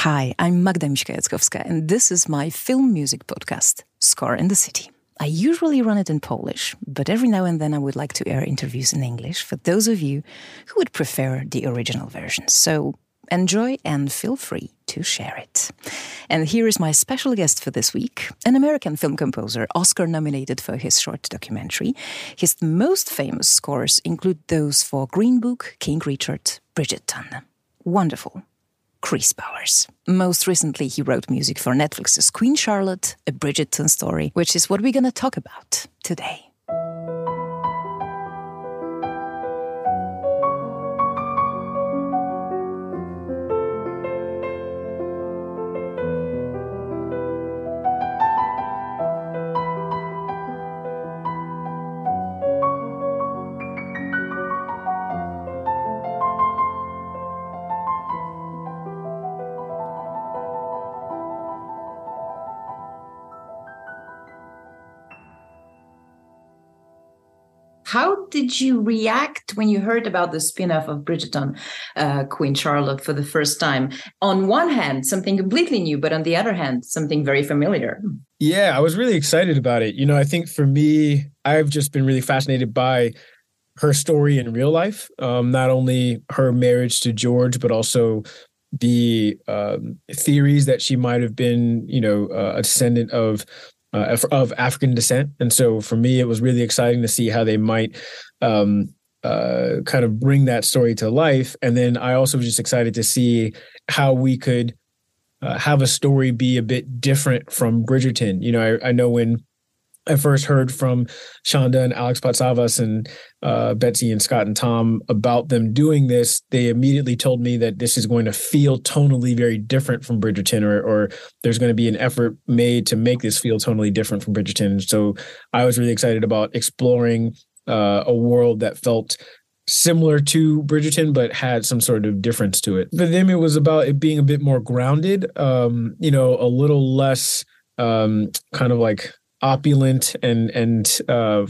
Hi, I'm Magda Miśka-Jackowska, and this is my film music podcast, Score in the City. I usually run it in Polish, but every now and then I would like to air interviews in English for those of you who would prefer the original version. So enjoy and feel free to share it. And here is my special guest for this week, an American film composer, Oscar-nominated for his short documentary. His most famous scores include those for Green Book, King Richard, Bridgerton. Wonderful. Chris Bowers. Most recently, he wrote music for Netflix's Queen Charlotte, A Bridgerton Story, which is what we're going to talk about today. How did you react when you heard about the spin-off of Bridgerton, Queen Charlotte, for the first time? On one hand, something completely new, but on the other hand, something very familiar. Yeah, I was really excited about it. I think for me, I've just been really fascinated by her story in real life, not only her marriage to George, but also the theories that she might have been, a descendant of African descent. And so for me, it was really exciting to see how they might kind of bring that story to life. And then I also was just excited to see how we could have a story be a bit different from Bridgerton. I know when I first heard from Shonda and Alex Patsavas and Betsy and Scott and Tom about them doing this, they immediately told me that this is going to feel tonally very different from Bridgerton, or there's going to be an effort made to make this feel tonally different from Bridgerton. So I was really excited about exploring a world that felt similar to Bridgerton, but had some sort of difference to it. For them, it was about it being a bit more grounded, a little less kind of like opulent and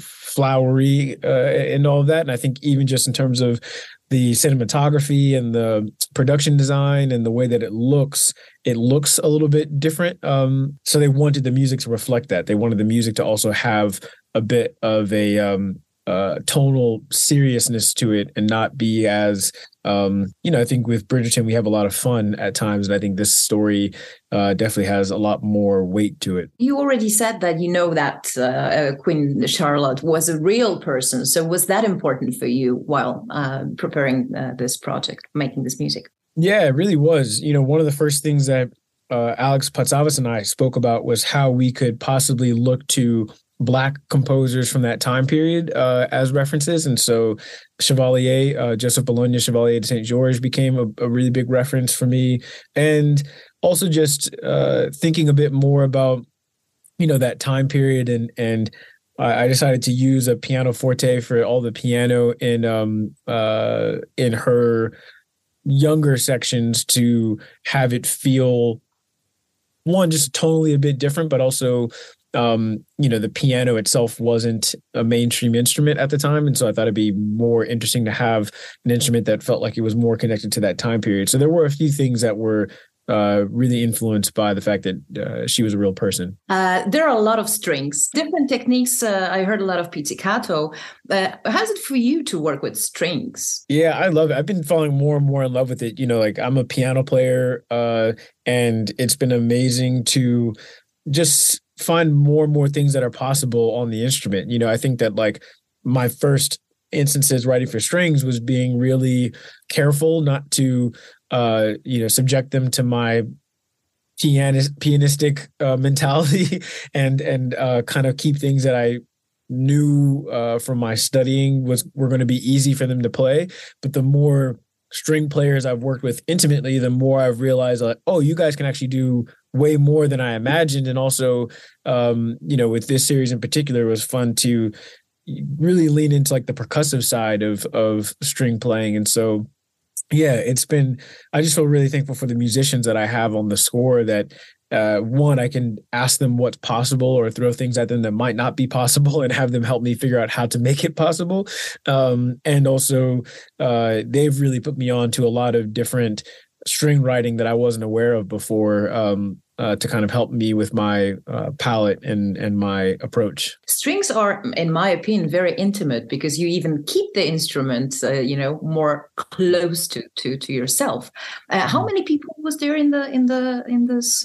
flowery and all of that. And I think even just in terms of the cinematography and the production design and the way that it looks a little bit different. So they wanted the music to reflect that. They wanted the music to also have a bit of a tonal seriousness to it and not be as, I think with Bridgerton, we have a lot of fun at times. And I think this story definitely has a lot more weight to it. You already said that that Queen Charlotte was a real person. So was that important for you while preparing this project, making this music? Yeah, it really was. One of the first things that Alex Patsavas and I spoke about was how we could possibly look to Black composers from that time period as references. And so Chevalier, Joseph Bologna, Chevalier de Saint George became a really big reference for me. And also just thinking a bit more about, that time period. And I decided to use a pianoforte for all the piano in her younger sections to have it feel, one, just tonally a bit different, but also the piano itself wasn't a mainstream instrument at the time. And so I thought it'd be more interesting to have an instrument that felt like it was more connected to that time period. So there were a few things that were really influenced by the fact that she was a real person. There are a lot of strings, different techniques. I heard a lot of pizzicato. How's it for you to work with strings? Yeah, I love it. I've been falling more and more in love with it. I'm a piano player and it's been amazing to just find more and more things that are possible on the instrument. I think that like my first instances writing for strings was being really careful not to, subject them to my pianistic mentality and kind of keep things that I knew from my studying were going to be easy for them to play. But the more string players I've worked with intimately, the more I've realized like, oh, you guys can actually do way more than I imagined. And also, with this series in particular, it was fun to really lean into like the percussive side of string playing. And so, yeah, I just feel really thankful for the musicians that I have on the score that one, I can ask them what's possible or throw things at them that might not be possible and have them help me figure out how to make it possible. And also, they've really put me on to a lot of different string writing that I wasn't aware of before, to kind of help me with my palette and my approach. Strings are, in my opinion, very intimate because you even keep the instrument, more close to yourself. How many people was there in this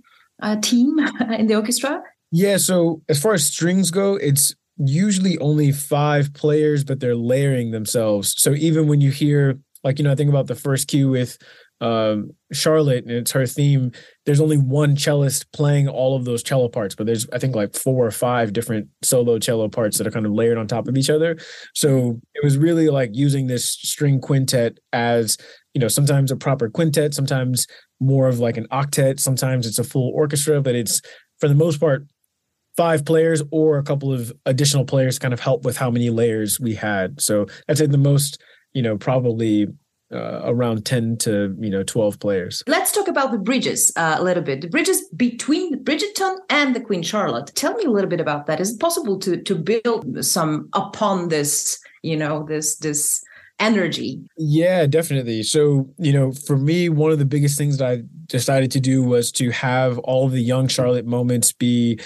team in the orchestra? Yeah, so as far as strings go, it's usually only 5 players, but they're layering themselves. So even when you hear, I think about the first cue with Charlotte and it's her theme, there's only one cellist playing all of those cello parts, but there's, I think, 4 or 5 different solo cello parts that are kind of layered on top of each other. So it was really using this string quintet as, sometimes a proper quintet, sometimes more of an octet, sometimes it's a full orchestra, but it's, for the most part, 5 players or a couple of additional players kind of help with how many layers we had. So I'd say the most, probably around 10 to 12 players. Let's talk about the bridges a little bit. The bridges between Bridgerton and the Queen Charlotte. Tell me a little bit about that. Is it possible to build some upon this, this energy? Yeah, definitely. So, for me, one of the biggest things that I decided to do was to have all of the young Charlotte moments be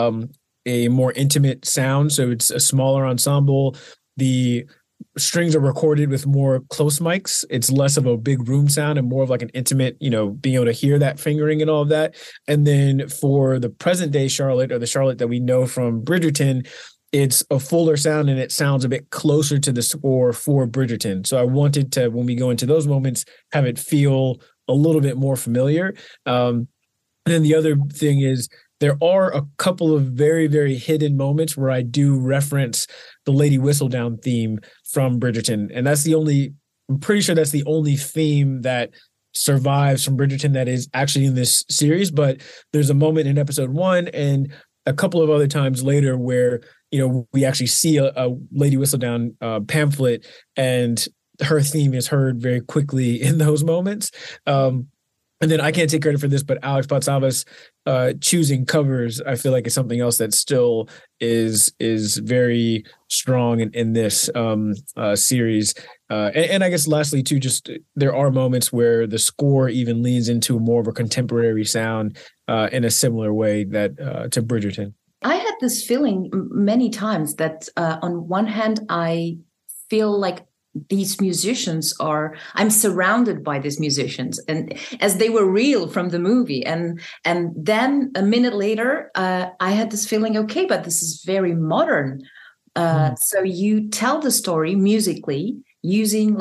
a more intimate sound. So it's a smaller ensemble. The strings are recorded with more close mics. It's less of a big room sound and more of an intimate, being able to hear that fingering and all of that. And then for the present day Charlotte, or the Charlotte that we know from Bridgerton, it's a fuller sound and it sounds a bit closer to the score for Bridgerton. So I wanted to, when we go into those moments, have it feel a little bit more familiar. And then the other thing is, there are a couple of very, very hidden moments where I do reference the Lady Whistledown theme from Bridgerton. And I'm pretty sure that's the only theme that survives from Bridgerton that is actually in this series. But there's a moment in episode 1 and a couple of other times later where, we actually see a Lady Whistledown pamphlet and her theme is heard very quickly in those moments. And then I can't take credit for this, but Alex Patsavas choosing covers, I feel like, is something else that still is very strong in this series. And I guess lastly, too, just there are moments where the score even leans into more of a contemporary sound in a similar way that to Bridgerton. I had this feeling many times that on one hand, I feel like these musicians I'm surrounded by these musicians and as they were real from the movie. And then a minute later, I had this feeling, okay, but this is very modern. So you tell the story musically using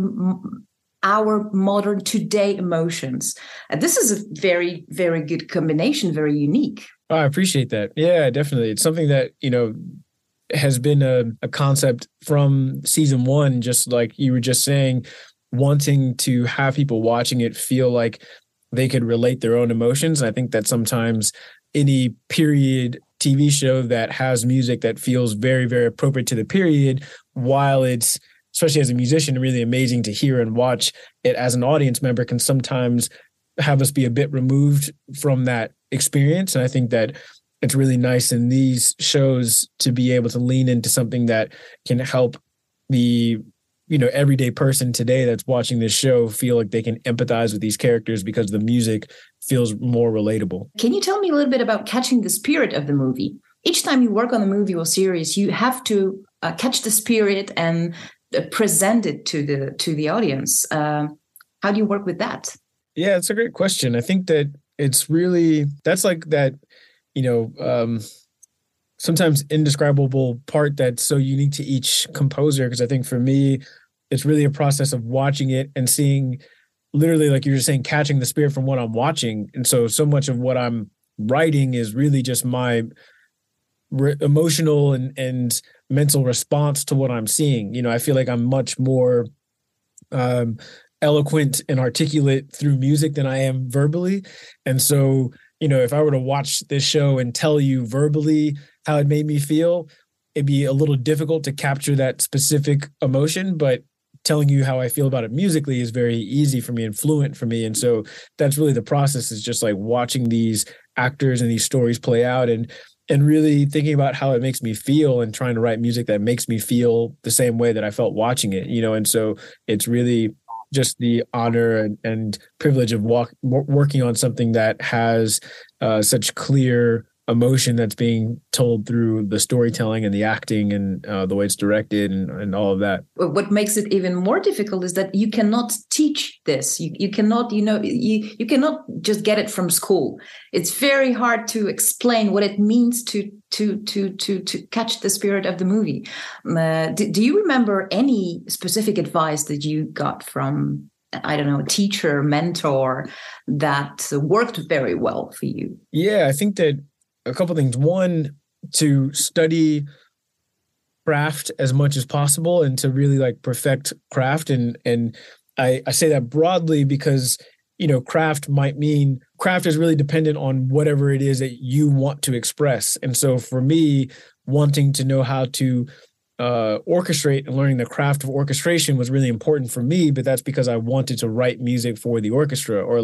our modern today emotions. This is a very, very good combination, very unique. Oh, I appreciate that. Yeah, definitely. It's something that, has been a concept from season 1, just like you were just saying, wanting to have people watching it feel like they could relate their own emotions. And I think that sometimes any period TV show that has music that feels very, very appropriate to the period, while it's, especially as a musician, really amazing to hear and watch it as an audience member, can sometimes have us be a bit removed from that experience. And I think that it's really nice in these shows to be able to lean into something that can help the, everyday person today that's watching this show feel like they can empathize with these characters because the music feels more relatable. Can you tell me a little bit about catching the spirit of the movie? Each time you work on a movie or series, you have to catch the spirit and present it to the audience. How do you work with that? Yeah, it's a great question. I think that it's really, that's like that, sometimes indescribable part that's so unique to each composer. Because I think for me, it's really a process of watching it and seeing, literally, like you were saying, catching the spirit from what I'm watching. And so much of what I'm writing is really just my emotional and mental response to what I'm seeing. I feel like I'm much more eloquent and articulate through music than I am verbally. And so, if I were to watch this show and tell you verbally how it made me feel, it'd be a little difficult to capture that specific emotion, but telling you how I feel about it musically is very easy for me and fluent for me. And so that's really the process, is just like watching these actors and these stories play out and really thinking about how it makes me feel and trying to write music that makes me feel the same way that I felt watching it, And so it's really just the honor and privilege of working on something that has such clear emotion that's being told through the storytelling and the acting and the way it's directed and all of that. What makes it even more difficult is that you cannot teach this. You cannot, you cannot just get it from school. It's very hard to explain what it means to catch the spirit of the movie. Do you remember any specific advice that you got from, I don't know, a teacher, mentor that worked very well for you? Yeah, I think that a couple of things. One, to study craft as much as possible and to really like perfect craft. And I say that broadly because, craft is really dependent on whatever it is that you want to express. And so for me, wanting to know how to orchestrate and learning the craft of orchestration was really important for me, but that's because I wanted to write music for the orchestra. Or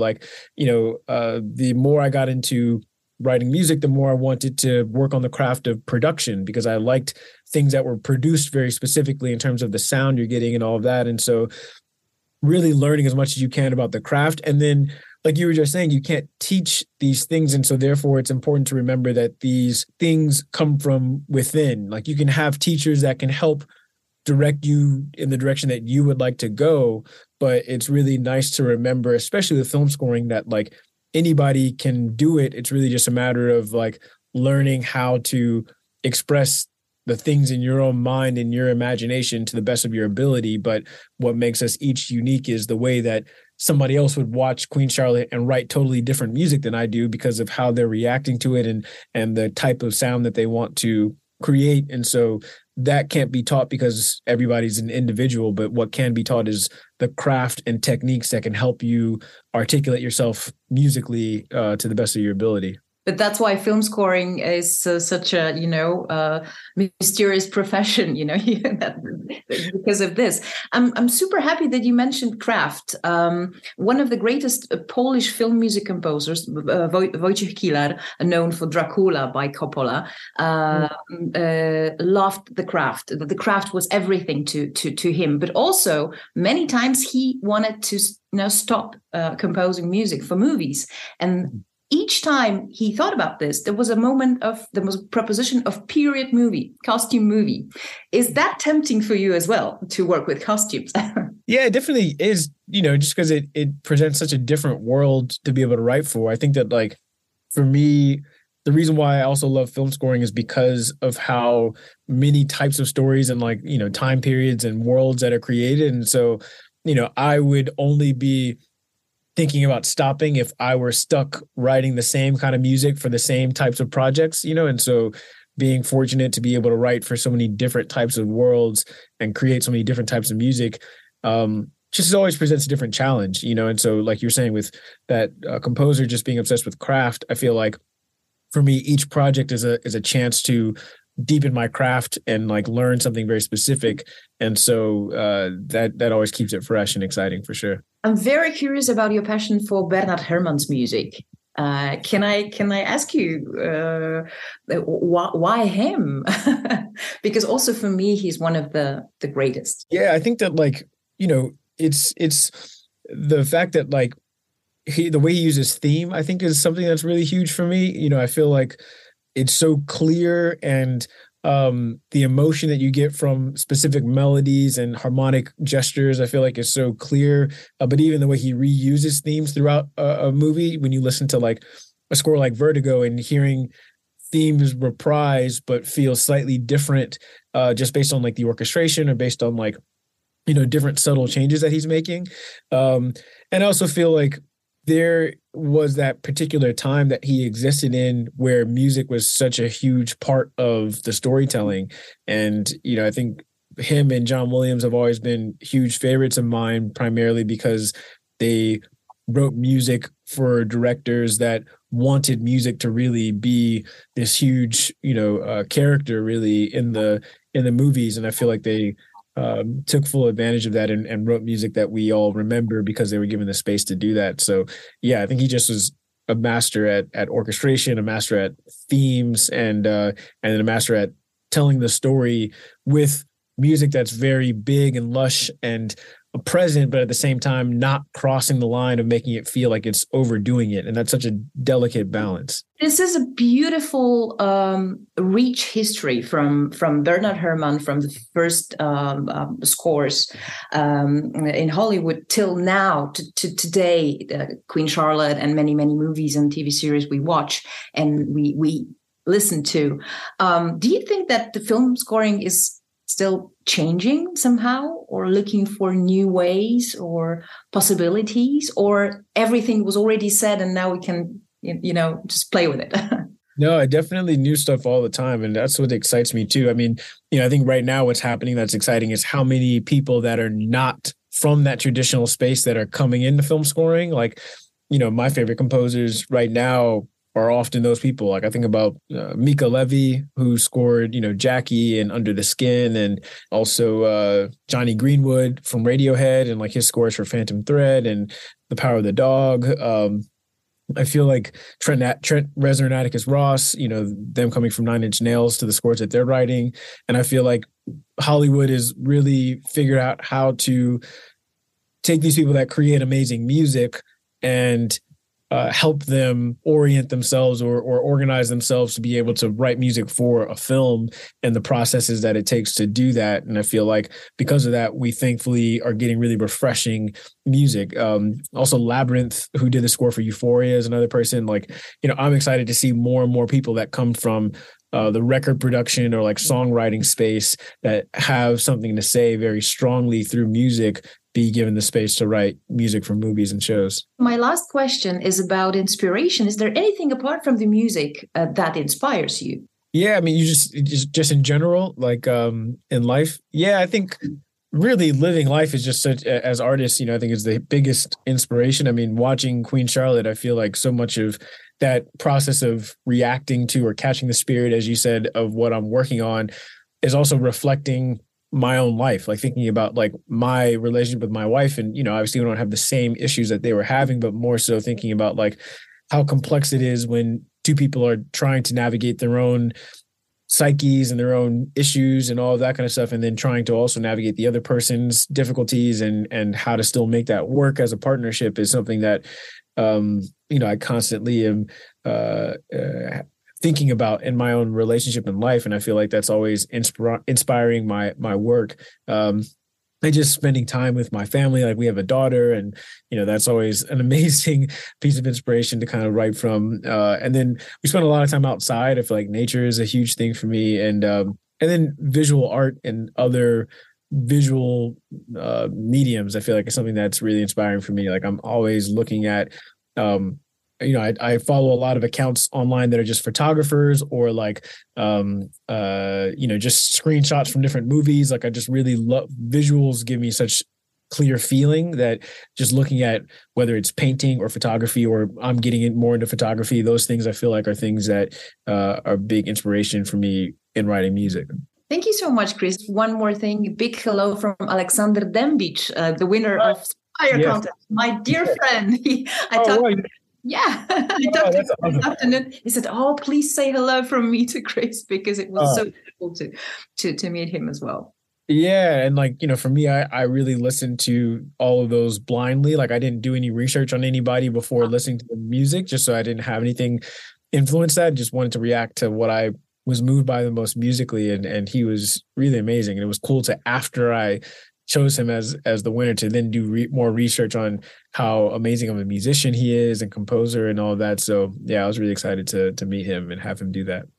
the more I got into writing music, the more I wanted to work on the craft of production because I liked things that were produced very specifically in terms of the sound you're getting and all of that. And so really learning as much as you can about the craft. And then, like you were just saying, you can't teach these things. And so therefore it's important to remember that these things come from within. Like you can have teachers that can help direct you in the direction that you would like to go. But it's really nice to remember, especially with film scoring, that like anybody can do it. It's really just a matter of like learning how to express the things in your own mind and your imagination to the best of your ability. But what makes us each unique is the way that somebody else would watch Queen Charlotte and write totally different music than I do because of how they're reacting to it and the type of sound that they want to create. And so that can't be taught because everybody's an individual, but what can be taught is the craft and techniques that can help you articulate yourself musically to the best of your ability. But that's why film scoring is such a, mysterious profession, because of this. I'm super happy that you mentioned craft. One of the greatest Polish film music composers, Wojciech Kilar, known for Dracula by Coppola, loved the craft. The craft was everything to him. But also, many times he wanted to stop composing music for movies. And each time he thought about this, there was a proposition of period movie, costume movie. Is that tempting for you as well to work with costumes? Yeah, it definitely is, just because it presents such a different world to be able to write for. I think that like, for me, the reason why I also love film scoring is because of how many types of stories and like, time periods and worlds that are created. And so, I would only be thinking about stopping if I were stuck writing the same kind of music for the same types of projects, and so being fortunate to be able to write for so many different types of worlds and create so many different types of music, just always presents a different challenge, and so like you're saying with that composer just being obsessed with craft, I feel like for me, each project is a chance to deepen my craft and like learn something very specific. And so that always keeps it fresh and exciting for sure. I'm very curious about your passion for Bernard Herrmann's music. Can I ask you why him? Because also for me, he's one of the greatest. Yeah, I think that like, it's the fact that like the way he uses theme, I think is something that's really huge for me. I feel like it's so clear and the emotion that you get from specific melodies and harmonic gestures, I feel like is so clear. But even the way he reuses themes throughout a movie, when you listen to like a score like Vertigo and hearing themes reprise but feel slightly different just based on like the orchestration or based on like, different subtle changes that he's making. And I also feel like there was that particular time that he existed in where music was such a huge part of the storytelling. And, I think him and John Williams have always been huge favorites of mine, primarily because they wrote music for directors that wanted music to really be this huge, character really in the movies. And I feel like they took full advantage of that and wrote music that we all remember because they were given the space to do that. So yeah, I think he just was a master at orchestration, a master at themes, and a master at telling the story with music that's very big and lush and present, but at the same time not crossing the line of making it feel like it's overdoing it. And that's such a delicate balance. This is a beautiful, rich history from Bernard Herrmann, from the first scores in Hollywood till now, to today, Queen Charlotte, and many, many movies and TV series we watch and we listen to. Do you think that the film scoring is still changing somehow, or looking for new ways or possibilities, or everything was already said and now we can, just play with it? No, I definitely new stuff all the time. And that's what excites me too. I mean, I think right now what's happening that's exciting is how many people that are not from that traditional space that are coming into film scoring. Like, my favorite composers right now are often those people. Like I think about Mika Levy, who scored, Jackie and Under the Skin, and also Johnny Greenwood from Radiohead, and like his scores for Phantom Thread and The Power of the Dog. I feel like Trent Reznor, Atticus Ross, them coming from Nine Inch Nails to the scores that they're writing. And I feel like Hollywood has really figured out how to take these people that create amazing music and help them orient themselves or organize themselves to be able to write music for a film and the processes that it takes to do that. And I feel like because of that, we thankfully are getting really refreshing music. Also Labyrinth, who did the score for Euphoria, is another person. Like, I'm excited to see more and more people that come from the record production or like songwriting space that have something to say very strongly through music be given the space to write music for movies and shows. My last question is about inspiration. Is there anything apart from the music that inspires you? Yeah, I mean, you just in general, like in life. Yeah, I think really living life is just such, as artists, I think is the biggest inspiration. I mean, watching Queen Charlotte, I feel like so much of that process of reacting to or catching the spirit, as you said, of what I'm working on is also reflecting my own life, like thinking about like my relationship with my wife. And, obviously we don't have the same issues that they were having, but more so thinking about like how complex it is when two people are trying to navigate their own psyches and their own issues and all of that kind of stuff. And then trying to also navigate the other person's difficulties and how to still make that work as a partnership is something that, I constantly am, thinking about in my own relationship in life. And I feel like that's always inspiring my work. And just spending time with my family. Like we have a daughter and, that's always an amazing piece of inspiration to kind of write from. And then we spend a lot of time outside. I feel like nature is a huge thing for me. And then visual art and other visual mediums, I feel like is something that's really inspiring for me. Like I'm always looking at, I follow a lot of accounts online that are just photographers or like, just screenshots from different movies. Like I just really love visuals, give me such clear feeling that just looking at whether it's painting or photography, or I'm getting it more into photography, those things I feel like are things that are big inspiration for me in writing music. Thank you so much, Chris. One more thing, a big hello from Alexander Dembic, the winner of Fire Contest, my dear friend. Yeah, I talked to him this afternoon. He said, "Oh, please say hello from me to Chris," because it was so beautiful to meet him as well. Yeah, and like for me, I really listened to all of those blindly. Like I didn't do any research on anybody before listening to the music, just so I didn't have anything influence that. Just wanted to react to what I was moved by the most musically, and he was really amazing. And it was cool to, after I chose him as the winner, to then do more research on how amazing of a musician he is and composer and all of that. So yeah, I was really excited to meet him and have him do that.